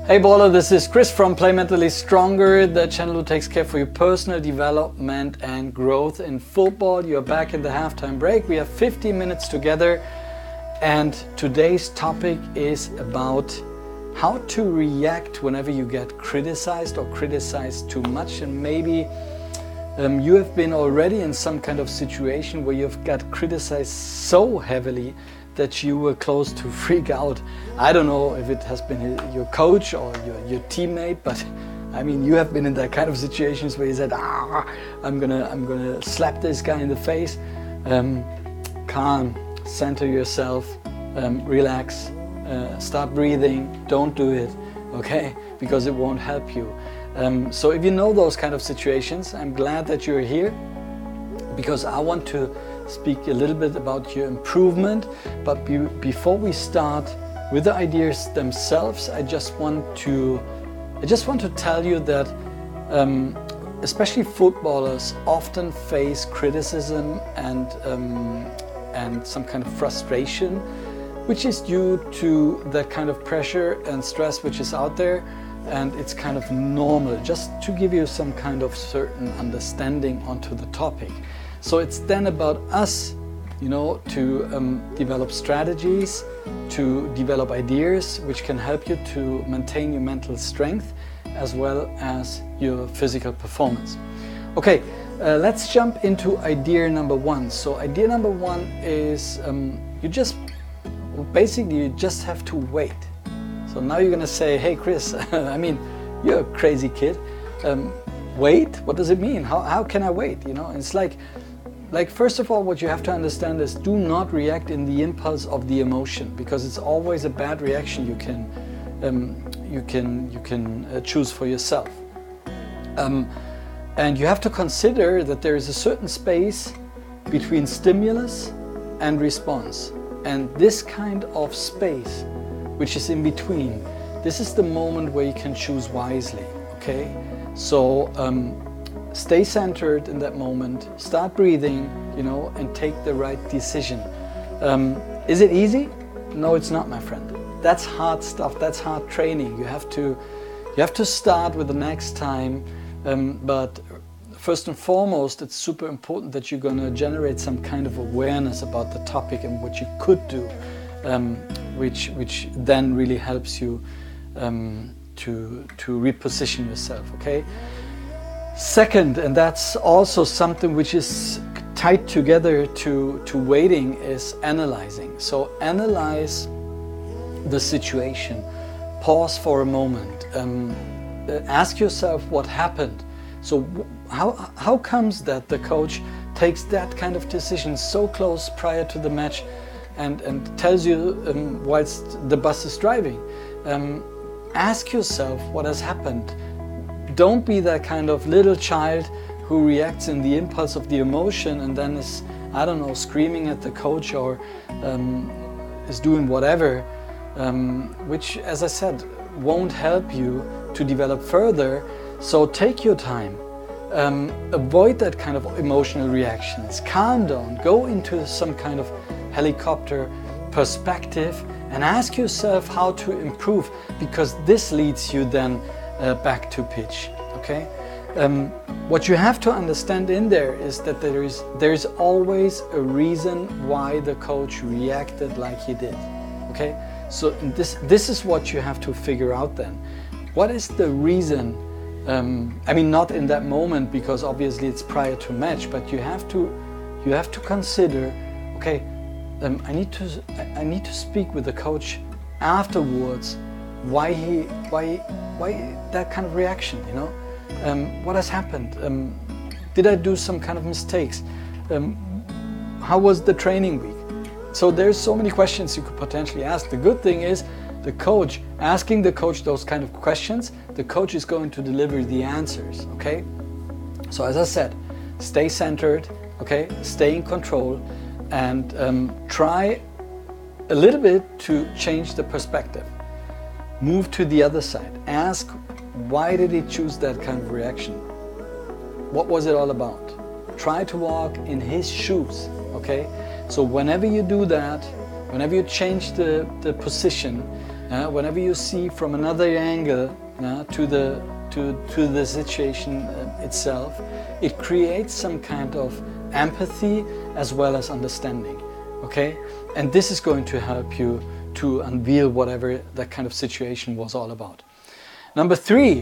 Hey baller, this is Chris from Play Mentally Stronger, the channel who takes care for your personal development and growth in football. You're back in the halftime break. We have 15 minutes together, and today's topic is about how to react whenever you get criticized or criticized too much. And maybe you have been already in some kind of situation where you've got criticized so heavily that you were close to freak out. I don't know if it has been your coach or your teammate, but I mean, you have been in that kind of situations where you said, I'm gonna slap this guy in the face. Calm, center yourself, relax, start breathing, don't do it, okay? Because it won't help you. So if you know those kind of situations, I'm glad that you're here, because I want to speak a little bit about your improvement. But before we start with the ideas themselves, I just want to tell you that especially footballers often face criticism and some kind of frustration, which is due to that kind of pressure and stress which is out there, and it's kind of normal. Just to give you some kind of certain understanding onto the topic. So it's then about us, to develop strategies, to develop ideas which can help you to maintain your mental strength as well as your physical performance. Okay, let's jump into idea number one. So idea number one is you just have to wait. So now you're gonna say, hey Chris, I mean, you're a crazy kid. Wait, what does it mean? How can I wait? It's like first of all, what you have to understand is do not react in the impulse of the emotion, because it's always a bad reaction you can choose for yourself. And you have to consider that there is a certain space between stimulus and response. And this kind of space, which is in between, this is the moment where you can choose wisely, okay? So stay centered in that moment, start breathing, and take the right decision. Is it easy? No, it's not, my friend. That's hard stuff, that's hard training. You have to start with the next time, but first and foremost, it's super important that you're gonna generate some kind of awareness about the topic and what you could do, which then really helps you to reposition yourself, okay? Second, and that's also something which is tied together to waiting, is analyzing. So analyze the situation, pause for a moment, ask yourself what happened. So how comes that the coach takes that kind of decision so close prior to the match and tells you whilst the bus is driving? Ask yourself what has happened. Don't be that kind of little child who reacts in the impulse of the emotion and then is, I don't know, screaming at the coach or is doing whatever, which, as I said, won't help you to develop further. So take your time, avoid that kind of emotional reactions, calm down, go into some kind of helicopter perspective and ask yourself how to improve, because this leads you then back to pitch, okay? What you have to understand in there is that there is always a reason why the coach reacted like he did, okay? So this is what you have to figure out then. What is the reason? I mean, not in that moment, because obviously it's prior to match, but you have to consider, okay, I need to speak with the coach afterwards. Why that kind of reaction, what has happened? Did I do some kind of mistakes? How was the training week? So there's so many questions you could potentially ask. The good thing is asking the coach those kind of questions, the coach is going to deliver the answers, okay? So as I said, stay centered, okay? Stay in control, and try a little bit to change the perspective. Move to the other side. Ask, why did he choose that kind of reaction? What was it all about? Try to walk in his shoes, okay? So whenever you do that, whenever you change the position, Whenever you see from another angle to the situation itself, it creates some kind of empathy as well as understanding. Okay, and this is going to help you to unveil whatever that kind of situation was all about. Number three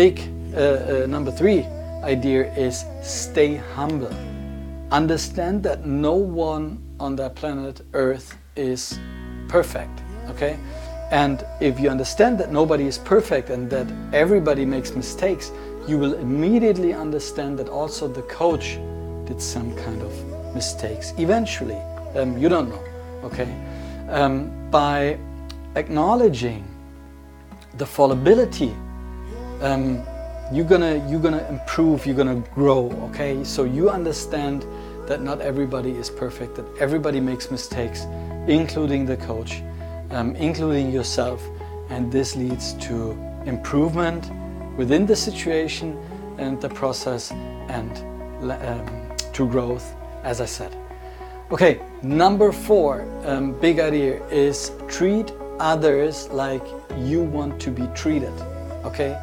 idea is stay humble. Understand that no one on that planet Earth is perfect. Okay, and if you understand that nobody is perfect and that everybody makes mistakes, you will immediately understand that also the coach did some kind of mistakes eventually. You don't know. Okay, by acknowledging the fallibility, you're gonna improve, you're gonna grow. Okay, so you understand that not everybody is perfect, that everybody makes mistakes, including the coach, including yourself, and this leads to improvement within the situation and the process, and to growth, as I said. Okay, number 4 big idea is treat others like you want to be treated. Okay,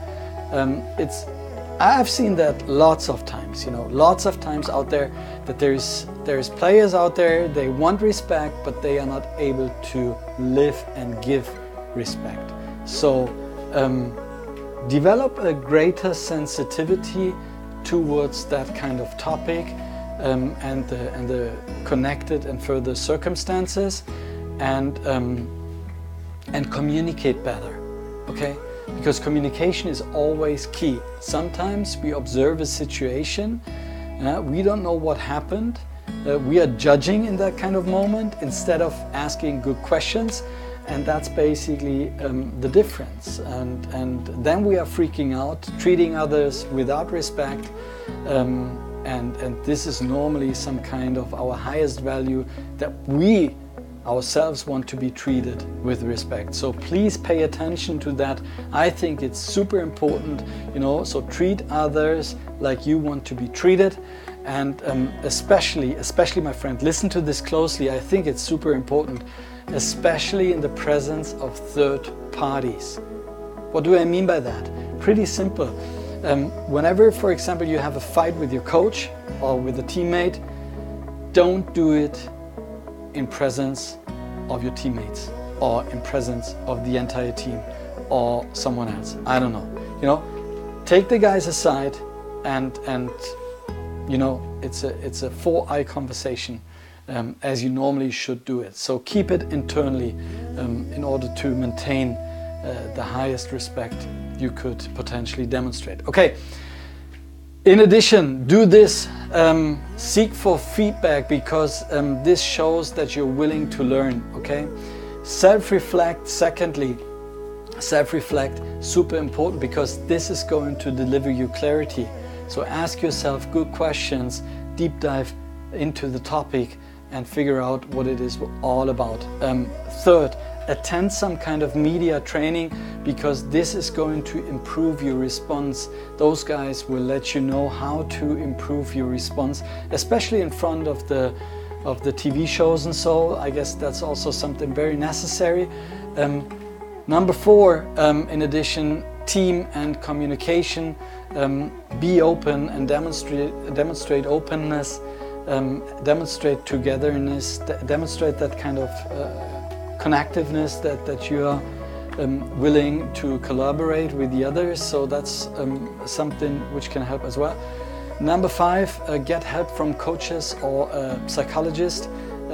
I've seen that lots of times, lots of times out there, that there's players out there, they want respect, but they are not able to live and give respect. So develop a greater sensitivity towards that kind of topic, and the connected and further circumstances, and communicate better. Okay, because communication is always key. Sometimes we observe a situation, we don't know what happened, we are judging in that kind of moment instead of asking good questions, and that's basically the difference. And then we are freaking out, treating others without respect, and this is normally some kind of our highest value, that we ourselves want to be treated with respect. So please pay attention to that. I think it's super important, so treat others like you want to be treated. And especially my friend, listen to this closely. I think it's super important, especially in the presence of third parties. What do I mean by that? Pretty simple. Whenever, for example, you have a fight with your coach or with a teammate, don't do it in presence of your teammates or in presence of the entire team or someone else. I don't know. Take the guys aside and it's a 4-eye conversation, as you normally should do it. So keep it internally in order to maintain the highest respect you could potentially demonstrate. Okay. In addition, do this, seek for feedback, because this shows that you're willing to learn. Okay. Self-reflect. Secondly, self-reflect, super important, because this is going to deliver you clarity. So ask yourself good questions, deep dive into the topic, and figure out what it is all about. Third, attend some kind of media training, because this is going to improve your response. Those guys will let you know how to improve your response, especially in front of the TV shows and so. I guess that's also something very necessary. Number 4, in addition, team and communication. Be open and demonstrate openness, demonstrate togetherness, demonstrate that kind of connectiveness, that you are willing to collaborate with the others. So that's something which can help as well. Number 5, get help from coaches or a psychologist.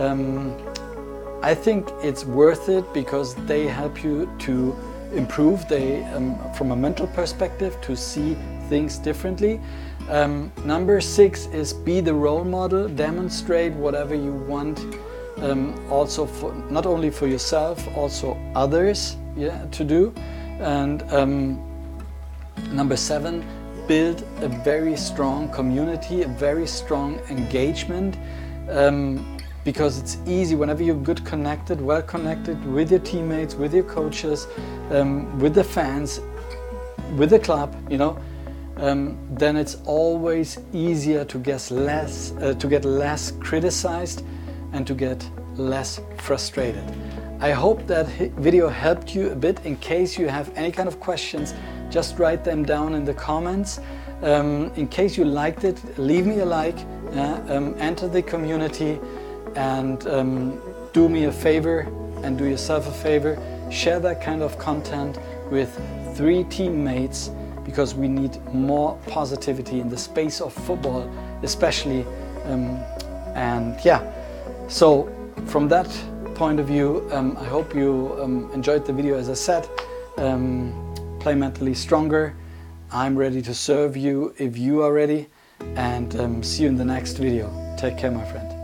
I think it's worth it, because they help you to improve, from a mental perspective, to see things differently. Number 6 is be the role model, demonstrate whatever you want, also for not only for yourself, also others, to do. And number 7, build a very strong community, a very strong engagement, because it's easy whenever you're well connected with your teammates, with your coaches, with the fans, with the club, then it's always easier to get less criticized and to get less frustrated. I hope that video helped you a bit. In case you have any kind of questions, just write them down in the comments. In case you liked it, leave me a like, enter the community, and do me a favor and do yourself a favor. Share that kind of content with 3 teammates, because we need more positivity in the space of football, especially. And yeah, so from that point of view, I hope you enjoyed the video. As I said, play mentally stronger. I'm ready to serve you if you are ready, and see you in the next video. Take care, my friend.